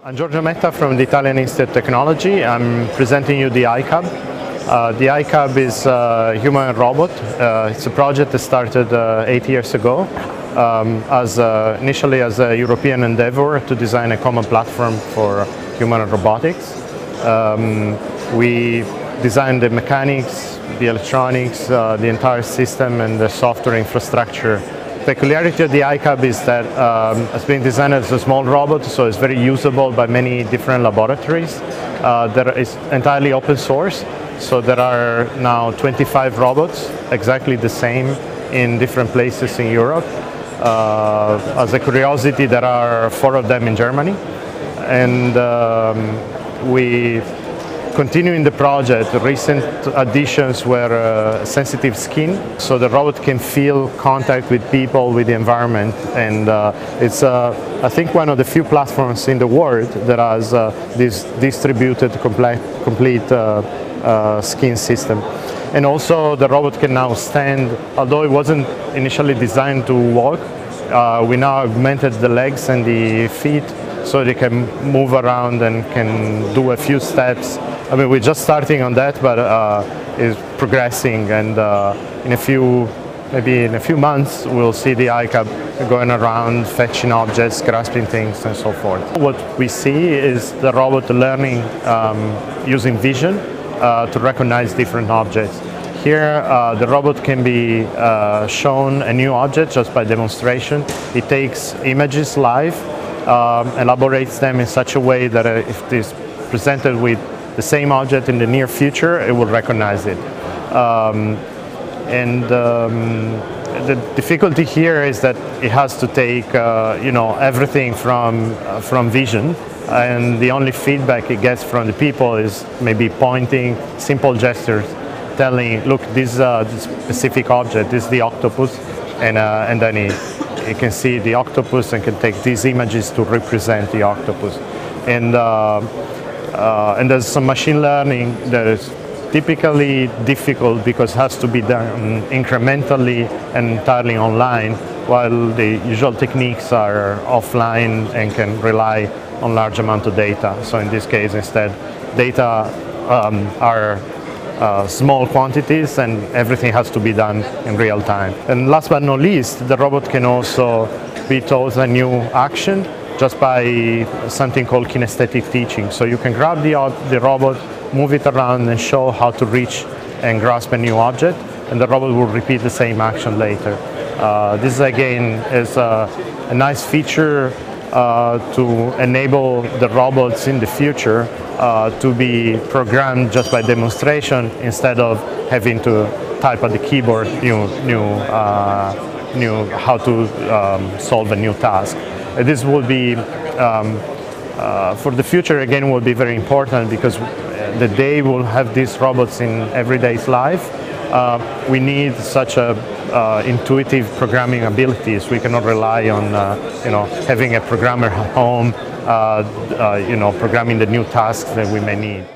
I'm Giorgio Metta from the Italian Institute of Technology. I'm presenting you the iCub. The iCub is a human robot. It's a project that started 8 years ago initially as a European endeavor to design a common platform for human robotics. We designed the mechanics, the electronics, the entire system and the software infrastructure. The peculiarity of the iCub is that it's been designed as a small robot, so it's very usable by many different laboratories. That is entirely open source, so there are now 25 robots, exactly the same in different places in Europe. As a curiosity, there are 4 of them in Germany, and we continuing the project. Recent additions were sensitive skin, so the robot can feel contact with people, with the environment, and it's I think one of the few platforms in the world that has this distributed complete skin system. And also the robot can now stand, although it wasn't initially designed to walk. We now augmented the legs and the feet so they can move around and can do a few steps. I mean, we're just starting on that, but it's progressing, and maybe in a few months, we'll see the iCub going around, fetching objects, grasping things, and so forth. What we see is the robot learning using vision to recognize different objects. Here, the robot can be shown a new object just by demonstration. It takes images live, elaborates them in such a way that if it is presented with the same object in the near future, it will recognize it. The difficulty here is that it has to take everything from vision, and the only feedback it gets from the people is maybe pointing, simple gestures, telling, look, this specific object, this is the octopus, and then it can see the octopus and can take these images to represent the octopus. And there's some machine learning that is typically difficult because it has to be done incrementally and entirely online, while the usual techniques are offline and can rely on large amount of data. So in this case, instead, data are small quantities and everything has to be done in real time. And last but not least, the robot can also be taught a new action just by something called kinesthetic teaching. So you can grab the robot, move it around and show how to reach and grasp a new object, and the robot will repeat the same action later. This again is a nice feature to enable the robots in the future to be programmed just by demonstration instead of having to type on the keyboard how to solve a new task. This will be, for the future again, will be very important because the day we'll have these robots in everyday life, we need such intuitive programming abilities. We cannot rely on having a programmer at home, programming the new tasks that we may need.